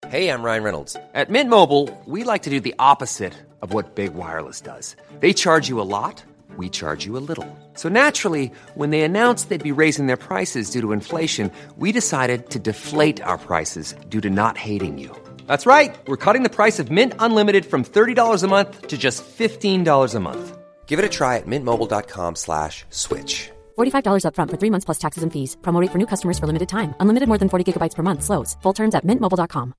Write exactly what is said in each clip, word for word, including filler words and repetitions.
Hey, I'm Ryan Reynolds. At Mint Mobile, we like to do the opposite of what Big Wireless does. They charge you a lot, we charge you a little. So naturally, when they announced they'd be raising their prices due to inflation, we decided to deflate our prices due to not hating you. That's right. We're cutting the price of Mint Unlimited from thirty dollars a month to just fifteen dollars a month. Give it a try at mintmobile.com slash switch. forty-five dollars up front for three months plus taxes and fees. Promo rate for new customers for limited time. Unlimited more than forty gigabytes per month. Slows full terms at mint mobile dot com.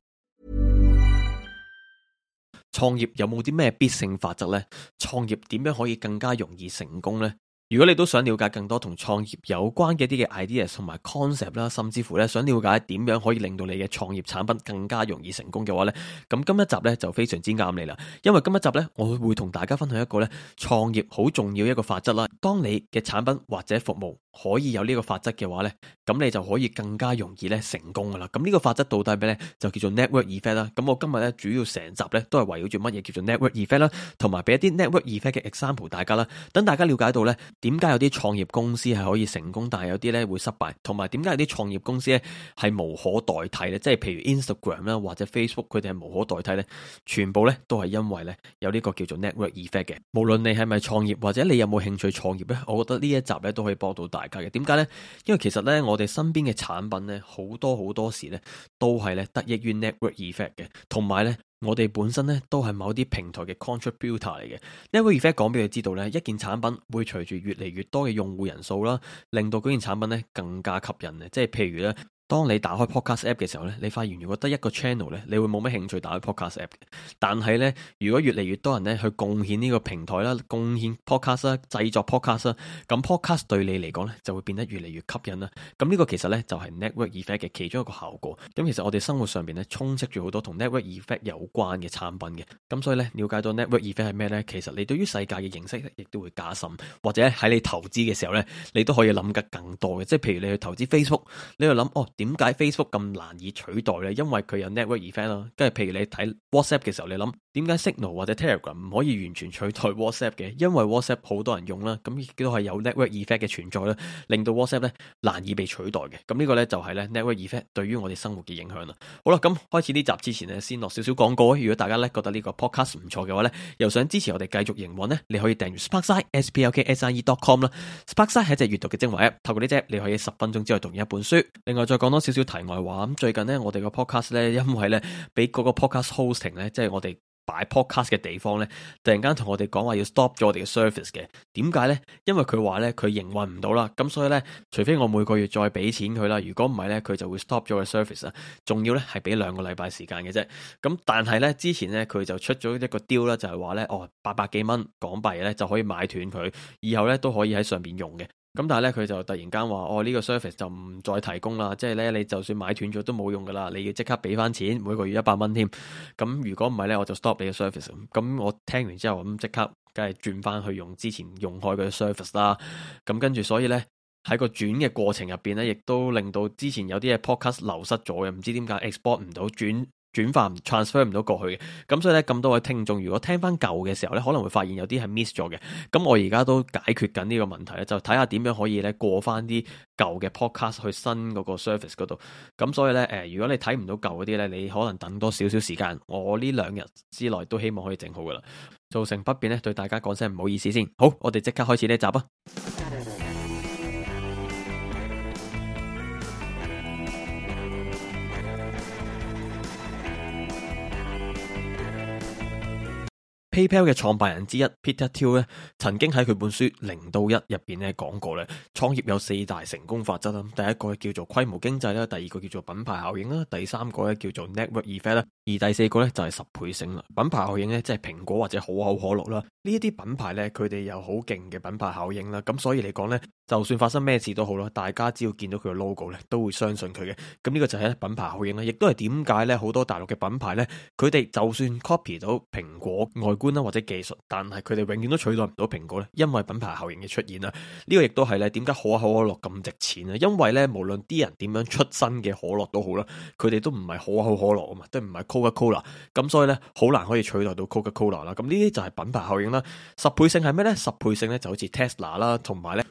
創業有冇啲咩必勝法則呢？創業點樣可以更加容易成功呢？如果你都想了解更多同創業有關嘅一啲嘅 ideas 同埋 concept 啦，甚至乎咧想了解點樣可以令到你嘅創業產品更加容易成功嘅話咧，咁今一集咧就非常之啱你啦。因為今一集咧，我會同大家分享一個咧創業好重要一個法則啦。當你嘅產品或者服務可以有呢個法則嘅話咧，咁你就可以更加容易咧成功噶啦。咁呢個法則到底係咩咧？就叫做 network effect 啦。咁我今日咧主要成集咧都係圍繞住乜嘢叫做 network effect 啦，同埋俾一啲 network effect 嘅 example 大家啦，等大家了解到咧。點解有啲創業公司係可以成功，但係有啲咧會失敗，同埋點解有啲創業公司咧係無可代替咧？即係譬如 Instagram 啦或者 Facebook， 佢哋係無可代替咧，全部咧都係因為咧有呢個叫做 network effect 嘅。無論你係咪創業或者你有冇興趣創業咧，我覺得呢一集咧都可以幫到大家嘅。點解咧？因為其實咧我哋身邊嘅產品咧好多好多時咧都係咧得益於 network effect 嘅，同埋咧。我哋本身咧都係某啲平台嘅 contributor 嚟嘅。Network effect 講俾你知道咧，一件產品會隨住越嚟越多嘅用戶人數啦，令到嗰件產品咧更加吸引嘅。即係譬如咧。當你打開 podcast app 嘅時候咧，你發現如果得一個 channel 咧，你會冇乜興趣打開 podcast app 嘅。但係咧，如果越嚟越多人咧去貢獻呢個平台啦，貢獻 podcast 啦，製作 podcast 啦，咁 podcast 對你嚟講咧就會變得越嚟越吸引啦。咁呢個其實咧就係 network effect 嘅其中一個效果。咁其實我哋生活上邊咧充斥住好多同 network effect 有關嘅產品嘅。咁所以咧了解到 network effect 係咩咧，其實你對於世界嘅認識亦都會加深，或者喺你投資嘅時候咧，你都可以諗得更多嘅。即係譬如你去投資 Facebook， 你去諗哦。點解 Facebook 咁難以取代呢？因為佢有 network effect 啦。跟住譬如你睇 WhatsApp 嘅時候，你諗點解 Signal 或者 Telegram 唔可以完全取代 WhatsApp 嘅？因為 WhatsApp 好多人用啦，咁亦都係有 network effect 嘅存在啦，令到 WhatsApp 咧難以被取代嘅。咁呢個咧就係咧 network effect 對於我哋生活嘅影響啦。好啦，咁開始呢集之前呢，先落少少廣告。如果大家咧覺得呢個 podcast 唔錯嘅話咧，又想支持我哋繼續營運呢，你可以訂閱 Sparkside S P L K S I E dot com 啦。Sparkside 係一隻閱讀嘅精華 app， 透過呢隻你可以十分鐘之內讀完一本書。另外再講多少少題外話，咁最近呢，我哋個 podcast 咧，因為咧俾嗰個 podcast hosting 咧，即係我哋擺 podcast 嘅地方咧，突然間同我哋講話要 stop 咗我哋嘅 service 嘅。點解咧？因為佢話咧佢營運唔到啦，咁所以咧，除非我每個月再俾錢佢啦，如果唔係咧，佢就會 stop 咗個 service 啊。仲要咧係俾兩個禮拜時間嘅啫。咁但係咧之前咧佢就出咗一個 deal 啦，就係話咧哦八百幾蚊港幣咧就可以買斷佢，以後咧都可以喺上邊用嘅。咁但係咧佢就突然間話哦呢個 service 就唔再提供啦，即係咧你就算買斷咗都冇用噶啦，你要即刻俾翻錢，每個月一百蚊添。咁如果唔係咧，我就 stop 你嘅 service。咁我聽完之後咁即刻梗係轉翻去用之前用開嘅 service 啦。咁跟住所以咧喺個轉嘅過程入邊咧，亦都令到之前有啲嘢 podcast 流失咗嘅，唔知點解 export 唔到轉。轉化唔 transfer 唔到過去嘅，咁所以咧咁多位聽眾如果聽翻舊嘅時候咧，可能會發現有啲係 miss 咗嘅。咁我而家都解決緊呢個問題咧，就睇下點樣可以咧過翻啲舊嘅 podcast 去新嗰個 service 嗰度。咁所以咧誒，如果你睇唔到舊嗰啲咧，你可能等多少少時間，我呢兩日之內都希望可以整好噶啦。造成不便咧，對大家講聲唔好意思先。好，我哋即刻開始呢一集啊！PayPal 嘅創辦人之一 Peter Thiel 咧，曾經喺佢本書零到一入邊咧講過咧，創業有四大成功法則啦。第一個叫做規模經濟啦，第二個叫做品牌效應啦，第三個咧叫做 network effect 啦，而第四個咧就係十倍性啦。品牌效應咧即係蘋果或者可口可樂啦，呢一啲品牌咧佢哋有好勁嘅品牌效應啦，咁所以嚟講咧，就算發生咩事都好啦，大家只要見到佢嘅 logo 咧，都會相信佢嘅。咁呢個就係品牌效應啦，亦都係點解咧好多大陸嘅品牌咧，佢哋就算 copy 到蘋果外觀啦或者技術，但係佢哋永遠都取代唔到蘋果咧，因為品牌效應嘅出現啦。呢個亦都係咧點解可口可樂咁值錢啊？因為咧無論啲人點樣出新嘅可樂都好啦，佢哋都唔係可口可樂啊嘛，都唔係 Coca-Cola， 咁所以咧好難可以取代到 Coca-Cola 啦。咁呢啲就係品牌效應啦。十倍性係咩咧？十倍性咧就好似 Tesla 啦，同埋咧 Google 甚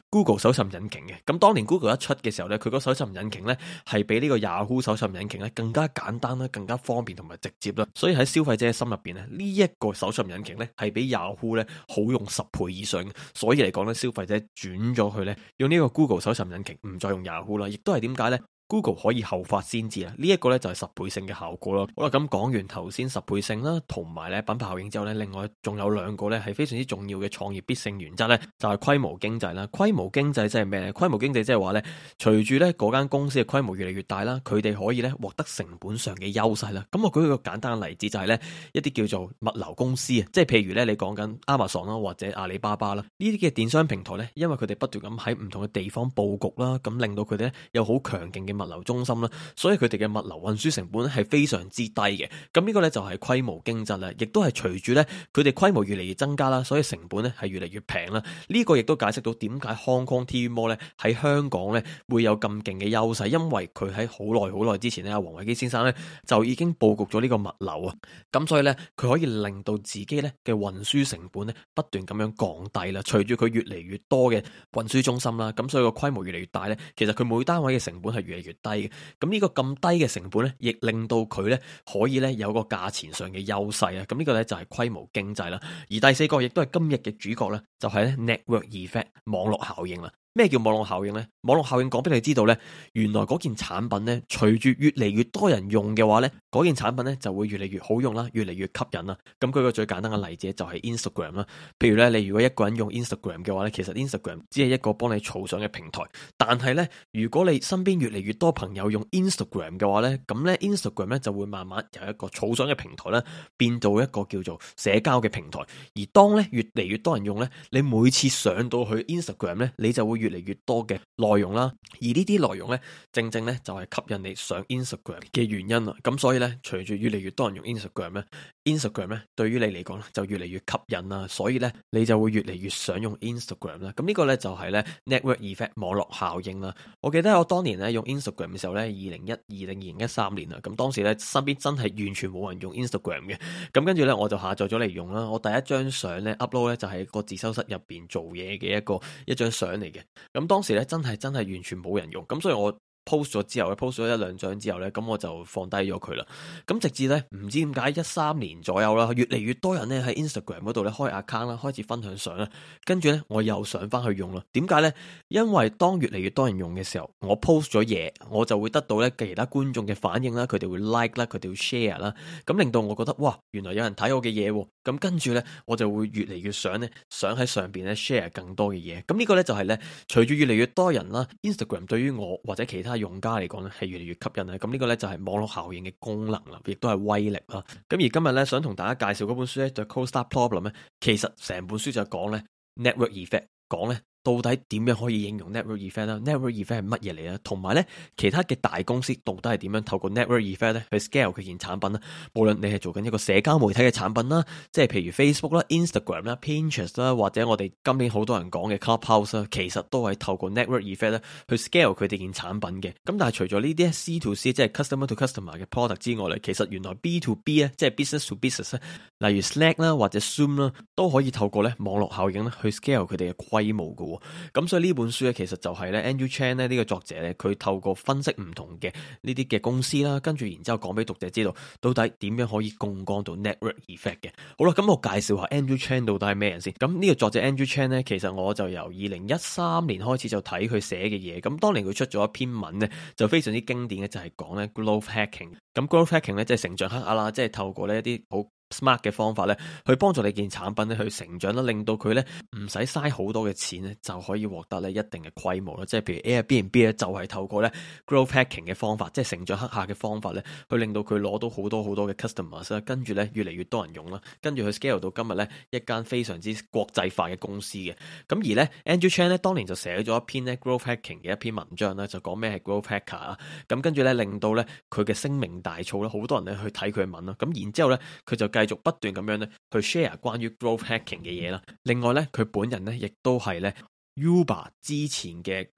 搜尋引擎嘅。咁當年 Google 一出嘅時候咧，佢個搜尋引擎咧係比呢個 Yahoo 搜尋引擎咧更加簡單啦，更加方便同埋直接啦。所以喺消費者嘅心入邊咧，呢一個搜尋引擎咧係比 Yahoo 咧好用十倍以上嘅。所以嚟講咧，消費者轉咗去咧用呢個 Google 搜尋引擎，唔再用 Yahoo 啦。亦都係點解咧？Google 可以後發先至啊！呢一個咧就係十倍性嘅效果咯。好啦，咁講完頭先十倍性啦，同埋咧品牌效應之後咧，另外仲有兩個咧係非常之重要嘅創業必勝原則咧，就係規模經濟啦。規模經濟即係咩咧？規模經濟即係話咧，隨住咧嗰間公司嘅規模越嚟越大啦，佢哋可以咧獲得成本上嘅優勢啦。咁我舉一個簡單嘅例子就係咧一啲叫做物流公司啊，即係譬如咧你講緊 Amazon 啦或者阿里巴巴啦呢啲嘅電商平台咧，因為佢哋不斷咁喺唔同嘅地方佈局啦，咁令到佢哋咧有好強勁嘅物流中心啦。所以佢哋嘅物流運輸成本係非常之低嘅，咁呢個呢，就係規模經濟啦，亦都係隨住呢，佢哋規模越嚟越增加啦，所以成本呢係越嚟越平啦。呢個亦都解釋到點解 Hong Kong T V Mall 呢喺香港呢會有咁勁嘅優勢，因為佢喺好耐好耐之前呢，阿黃偉基先生呢就已經佈局咗呢個物流啊，咁所以呢，佢可以令到自己呢嘅運輸成本呢不斷咁樣降低啦。隨住佢越嚟越多嘅運輸中心啦，咁所以個規模越嚟越大呢，其實佢每單位嘅成本係越嚟越低嘅。咁呢個咁低嘅成本咧，亦令到佢咧可以咧有個價錢上嘅優勢啊！咁呢個咧就係規模經濟啦。而第四個亦都係今日嘅主角咧，就係咧 network effect 網絡效應啦。咩叫網絡效應呢？網絡效應講俾你知道呢，原來嗰件產品呢，隨住越嚟越多人用嘅話呢，嗰件產品呢就會越嚟越好用啦，越嚟越吸引啦。咁舉個最簡單嘅例子就係 Instagram 啦。譬如呢，你如果一個人用 Instagram 嘅話呢，其實 Instagram 只係一個幫你儲相嘅平台。但係呢，如果你身邊越嚟越多朋友用 Instagram 嘅話呢，咁呢 Instagram 呢就會慢慢由一個儲相嘅平台呢變到一個叫做社交嘅平台。而當呢越嚟越多人用呢，你每次上到去 Instagram 呢，你就會越嚟越多嘅內容啦，而呢啲內容呢，正正呢就係吸引你上 Instagram 嘅原因啦。咁所以呢，隨住越嚟越多人用 Instagram 呢 Instagram 呢對於你嚟講呢就越嚟越吸引啦，所以呢，你就會越嚟越想用 Instagram 啦。咁呢個呢，就係呢 network effect 網絡效應啦。我記得我當年呢用 Instagram 嘅時候呢，二零一二定二零一三年啦，咁當時呢，身邊真係完全冇人用 Instagram 嘅，咁跟住呢，我就下載咗嚟用啦。我第一張相呢 upload 呢就係個自修室入邊做嘢嘅一個一張相嚟嘅。咁當時咧真係真係完全冇人用，咁所以我 post 咗之後咧 post 咗一兩張之後咧，咁我就放低咗佢啦。咁直至咧唔知點解一三年左右啦，越嚟越多人咧喺 Instagram 嗰度咧開 account 啦，開始分享相啦，跟住咧我又上翻去用啦。點解咧？因為當越嚟越多人用嘅時候，我 post 咗嘢，我就會得到咧其他觀眾嘅反應啦，佢哋會 like 啦，佢哋會 share 啦，咁令到我覺得哇，原來有人睇我嘅嘢喎。咁跟住咧，我就會越嚟越想咧，想喺上邊咧 share 更多嘅嘢。咁呢個咧就係咧，隨住越嚟越多人啦 ，Instagram 對於我或者其他用家嚟講咧係越嚟越吸引啦。咁呢個咧就係網絡效應嘅功能啦，亦都係威力啦。咁而今日咧想同大家介紹嗰本書咧就係 Cold Start Problem 咧，其實成本書就講咧 network effect，講咧。到底點樣可以應用 network effect 啦 ？network effect 係乜嘢嚟咧？同埋咧，其他嘅大公司到底係點樣透過 network effect 咧去 scale 佢件產品啦？無論你係做緊一個社交媒體嘅產品啦，即係譬如 Facebook 啦、Instagram 啦、Pinterest 啦，或者我哋今年好多人講嘅 Clubhouse 啦，其實都係透過 network effect 咧去 scale 佢哋件產品嘅。咁但係除咗呢啲 C to C 即係 customer to customer 嘅 product 之外咧，其實原來 B to B 咧，即係 business to business 咧，例如 Slack 啦或者 Zoom 啦，都可以透過咧網絡效應咧去 scale 佢哋嘅規模嘅。咁所以呢本書咧，其實就係咧 Andrew Chan 咧呢個作者咧，佢透過分析唔同嘅呢啲嘅公司啦，跟住然之後講俾讀者知道，到底點樣可以槓桿到 network effect 嘅。好啦，咁我介紹下 Andrew Chan 到底係咩人先。咁呢個作者 Andrew Chan 咧，其實我就由二零一三年開始就睇佢寫嘅嘢。咁當年佢出咗一篇文咧，就非常之經典嘅，就係講咧 growth hacking。咁 growth hacking 咧，即係成長黑客啦，即係透過呢一啲好smart 嘅方法咧，去幫助你件產品咧去成長啦，令到佢咧唔使嘥好多嘅錢咧，就可以獲得咧一定嘅規模啦。即係譬如 Airbnb 咧，就係透過咧 growth hacking 嘅方法，即係成長黑客嘅方法咧，去令到佢攞到好多好多嘅 customers 啦，跟住咧越嚟越多人用啦，跟住佢 scale 到今日咧一間非常之國際化嘅公司嘅。咁而咧 Andrew Chan 咧當年就寫咗一篇咧 growth hacking 嘅一篇文章啦，就講咩係 growth hacker 啊。咁跟住咧令到咧佢嘅聲名大噪啦，好多人咧去睇佢嘅文啦。咁然之後咧佢就繼續不斷咁樣咧去 share 關於 growth hacking 嘅嘢啦。另外咧佢本人咧亦都係咧 Uber 之前嘅 growth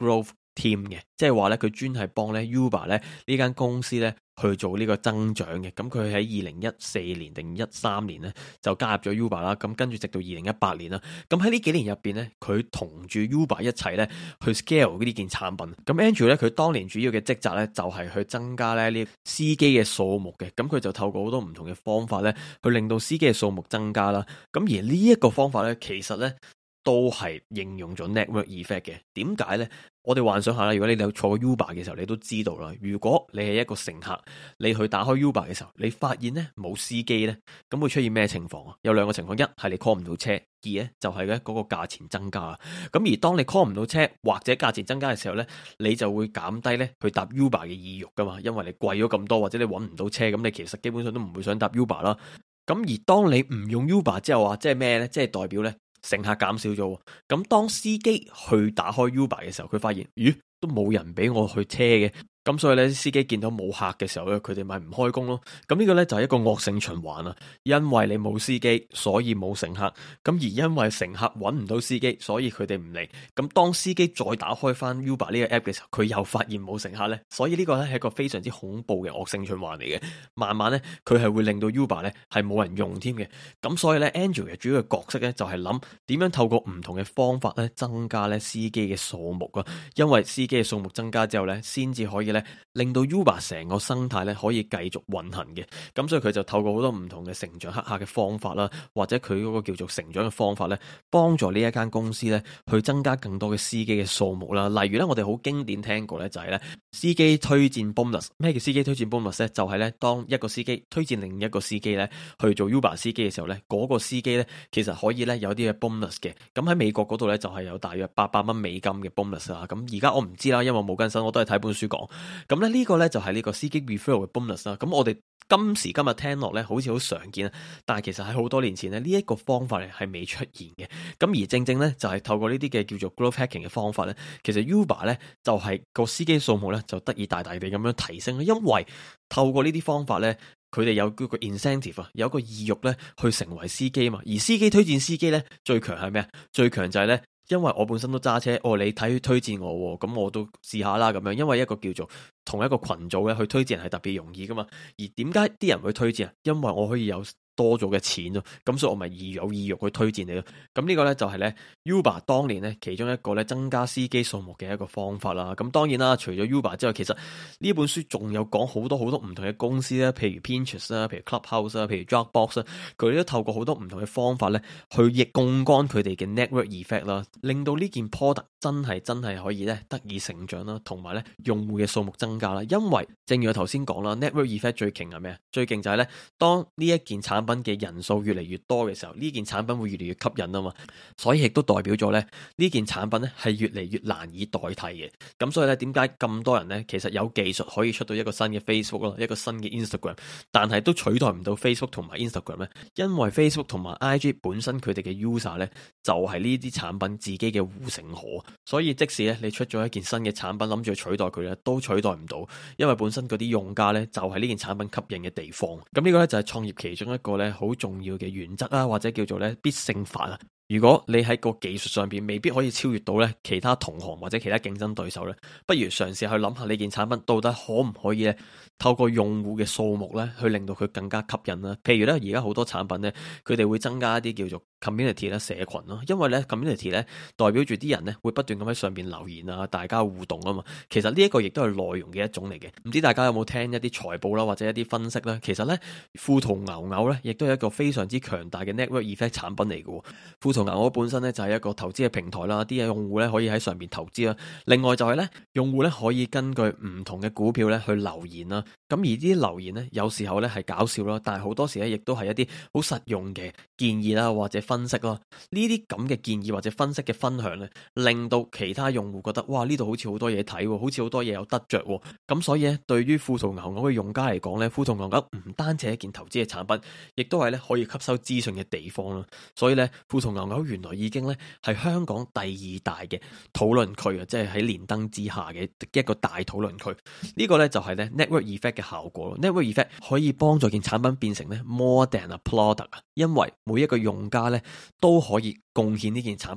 team 嘅，即係話咧佢專係幫咧 Uber 咧呢間公司咧去做呢個增長嘅。咁佢喺二零一四年定一三年咧就加入咗 Uber 啦。咁跟住直到二零一八年啦。咁喺呢幾年入邊咧，佢同住 Uber 一齊咧去 scale 呢件產品。咁 Andrew 咧佢當年主要嘅職責咧就係去增加咧呢司機嘅數目嘅。咁佢就透過好多唔同嘅方法咧去令到司機嘅數目增加啦。咁而呢一個方法咧其實咧都係應用咗 network effect 嘅。點解呢？我哋幻想下啦，如果你有坐過 Uber 嘅時候，你都知道啦。如果你係一個乘客，你去打開 Uber 嘅時候，你發現呢冇司機呢，咁會出現咩情況啊？有兩個情況，一係你 call 唔到車，二呢就係咧嗰個價錢增加。咁而當你 call 唔到車或者價錢增加嘅時候呢，你就會減低呢去搭 Uber 嘅意欲噶嘛，因為你貴咗咁多，或者你揾唔到車，咁你其實基本上都唔會想搭 Uber 啦。咁而當你唔用 Uber 之後啊，即係咩呢？即係代表呢乘客減少咗。咁當司機去打開 Uber 嘅時候，佢發現，咦，都冇人俾我去車嘅。咁所以咧，司機見到冇客嘅時候咧，佢哋咪唔開工咯。咁呢個咧就係一個惡性循環啊！因為你冇司機，所以冇乘客。咁而因為乘客揾唔到司機，所以佢哋唔嚟。咁當司機再打開翻 Uber 呢個 app 嘅時候，佢又發現冇乘客咧。所以呢個咧係一個非常之恐怖嘅惡性循環嚟嘅。慢慢咧，佢係會令到 Uber 咧係冇人用添嘅。咁所以咧 Andrew 嘅主要嘅角色咧就係諗點樣透過唔同嘅方法咧增加咧司機嘅數目啊。因為司機嘅數目增加之後咧，先至可以咧令到 Uber 成個生態咧可以繼續運行嘅。咁所以佢就透過好多唔同嘅成長黑客嘅方法啦，或者佢嗰個叫做成長嘅方法咧，幫助呢一間公司咧去增加更多嘅司機嘅數目啦。例如咧，我哋好經典聽過咧就係咧司機推薦 bonus。咩叫司機推薦 bonus 咧？就係咧當一個司機推薦另一個司機咧去做 Uber 司機嘅時候咧，嗰個司機咧其實可以咧有啲嘅 bonus 嘅。咁喺美國嗰度咧就係有大約八百蚊美金嘅 bonus 啦。咁而家我唔知啦，因為我冇更新，我都係睇本書講。咁咧呢個咧就係呢個司機 referral 嘅 bonus 啦。咁我哋今時今日聽落咧好似好常見啊，但係其實喺好多年前咧呢一個方法咧係未出現嘅。咁而正正咧就係透過呢啲嘅叫做 growth hacking 嘅方法咧，其實 Uber 咧就係個司機數目咧就得以大大地咁樣提升。因為透過呢啲方法咧，佢哋有嗰個 incentive 啊，有一個意欲咧去成為司機嘛。而司機推薦司機咧最強係咩啊？最強就係咧，因為我本身都揸車，哦，你睇推薦我，咁我都試下啦咁樣。因為一個叫做同一個群組咧去推薦人係特別容易噶嘛。而點解啲人會推薦啊？因為我可以有多咗嘅錢咯，咁所以我咪意有意欲去推薦你咯。咁呢個呢，就係呢 Uber 當年呢其中一個呢增加司機數目嘅一個方法啦。咁當然啦，除咗 Uber 之外，其實呢本書仲有講好多好多唔同嘅公司啦，譬如 Pinterest 啦，譬如 Clubhouse 啦，譬如 Dropbox 啦，佢哋都透過好多唔同嘅方法呢去逆槓桿佢哋嘅 network effect 啦，令到呢件 product 真係真係可以呢得以成長啦，同埋呢用戶嘅數目增加啦。因為正如我頭先講啦 ，network effect 最勁係咩啊？最勁就係呢，當呢一件產品嘅人數越嚟越多嘅時候，呢件產品會越嚟越吸引啊嘛，所以亦都代表咗咧呢件產品咧係越嚟越難以代替嘅。咁所以咧，點解咁多人咧其實有技術可以出到一個新嘅 Facebook 咯，一個新嘅 Instagram， 但係都取代唔到 Facebook 同埋 Instagram 咧？因為 Facebook 同埋 I G 本身佢哋嘅 user 咧就係呢啲產品自己嘅護城河，所以即使咧你出咗一件新嘅產品諗住取代佢咧，都取代唔到，因為本身嗰啲用家咧就係呢件產品吸引嘅地方。咁呢個咧就係創業其中一個咧好重要嘅原則啊，或者叫做咧必勝法啊。如果你喺個技術上邊未必可以超越到咧其他同行或者其他競爭對手咧，不如嘗試去諗下呢件產品到底可唔可以咧透過用戶嘅數目咧去令到佢更加吸引啦。譬如咧而家好多產品咧，佢哋會增加一啲叫做 community 啦，社群咯，因為咧 community 咧代表住啲人咧會不斷咁喺上邊留言啊，大家互動啊嘛。其實呢一個亦都係內容嘅一種嚟嘅。唔知大家有冇聽一啲財報啦，或者一啲分析啦？其實咧富途牛牛咧亦都係一個非常之強大嘅 network effect 產品嚟嘅。富途牛牛本身咧就係一個投資嘅平台啦，啲用戶咧可以喺上邊投資啦。另外就係咧用戶咧可以根據唔同嘅股票咧去留言啦。咁而啲留言咧有時候咧係搞笑啦，但係好多時咧亦都係一啲好實用嘅建議啦，或者分析咯。呢啲咁嘅建議或者分析嘅分享咧，令到其他用戶覺得哇，呢度好似好多嘢睇，好似好多嘢有得着。咁所以咧，對於富途牛牛嘅用家嚟講咧，富途牛牛唔單止係一件投資嘅產品，亦都係咧可以吸收資訊嘅地方啦。所以咧，富途牛牛原來已經咧係香港第二大嘅討論區啊，即係喺連登之下嘅一個大討論區。呢個咧就係咧 network effect 嘅效果咯。network effect 可以幫助件產品變成咧 more than a product 啊，因為每一個用家咧都可以貢獻呢件產品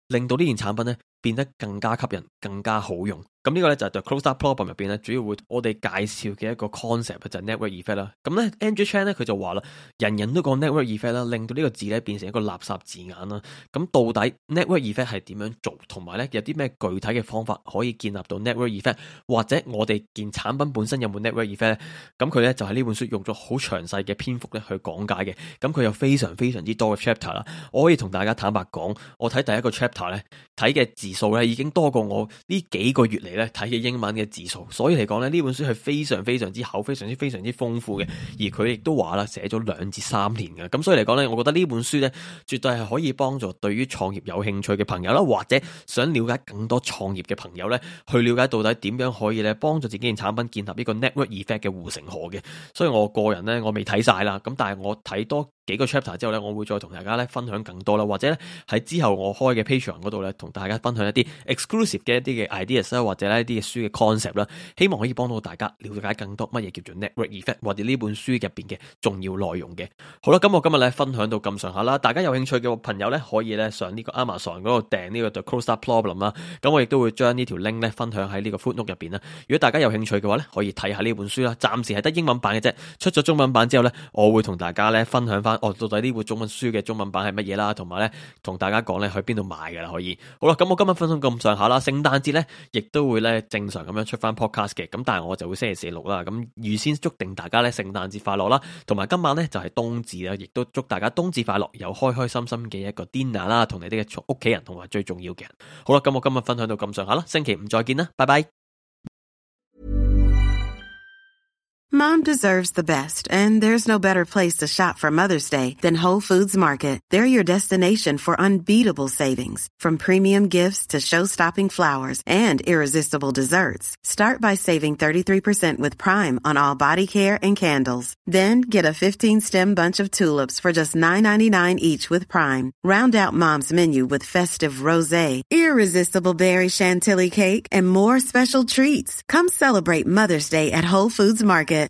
令到呢件產品咧變得更加吸引、更加好用。咁呢個咧就係 The Closed Up Problem 入邊咧主要會我哋介紹嘅一個 concept 就係 network effect 啦。咁咧 Andrew Chan 咧佢就話啦，人人都講 network effect 啦，令到呢個字咧變成一個垃圾字眼啦。咁到底 network effect 係點樣做，同埋咧有啲咩具體嘅方法可以建立到 network effect， 或者我哋件產品本身有冇 network effect 咧？咁佢咧就喺呢本書用咗好詳細嘅篇幅咧去講解嘅。咁佢有非常非常之多嘅 chapter 啦。我可以同大家坦白講，我睇第一個 chapter 咧睇嘅字數咧已經多過我呢幾個月嚟咧睇嘅英文嘅字數，所以嚟講咧呢本書係非常非常之厚、非常之非常之豐富嘅。而佢亦都話啦，寫咗兩至三年嘅。咁所以嚟講咧，我覺得呢本書咧絕對係可以幫助對於創業有興趣嘅朋友啦，或者想了解更多創業嘅朋友咧，去了解到底點樣可以咧幫助自己件產品建立呢個 network effect 嘅護城河嘅。所以我個人咧我未睇晒啦，咁但係我睇多幾個 chapter 之後咧，我會再同大家咧分享更多啦，或者咧喺之後我開嘅 Patreon 嗰度咧，同大家分享一啲 exclusive 嘅一啲嘅 ideas 啦，或者咧一啲嘅書嘅 concept 啦，希望可以幫到大家了解更多乜嘢叫做 network effect， 或者呢本書入邊嘅重要內容嘅。好啦，咁我今日咧分享到咁上下啦，大家有興趣嘅朋友咧可以咧上呢個 Amazon 嗰度訂呢個 The Closed Up Problem 啦。咁我亦都會將呢條 link 咧分享喺呢個 footnote 入邊啦。如果大家有興趣嘅話咧，可以睇下呢本書啦。暫時係得英文版嘅啫，出咗中文版之後咧，我會同大家咧分享翻，哦，到底呢本中文書嘅中文版係乜嘢啦，同埋咧同大家講咧去邊度買噶啦，可以。好啦，咁我今日分享咁上下啦，聖誕節咧亦都會咧正常咁樣出翻 podcast 嘅，咁但係我就會星期四六啦，咁預先祝定大家咧聖誕節快樂啦，同埋今晚咧就係冬至啦，亦都祝大家冬至快樂，有開開心心嘅一個 dinner 啦，同你哋嘅屋企人同埋最重要嘅人。好啦，咁我今日分享到咁上下啦，星期五再見啦，拜拜。 Mom deserves the best, and there's no better place to shop for Mother's Day than Whole Foods Market. They're your destination for unbeatable savings, from premium gifts to show-stopping flowers and irresistible desserts. Start by saving thirty-three percent with Prime on all body care and candles. Then get a fifteen-stem bunch of tulips for just nine ninety-nine each with Prime. Round out Mom's menu with festive rosé, irresistible berry chantilly cake, and more special treats. Come celebrate Mother's Day at Whole Foods Market.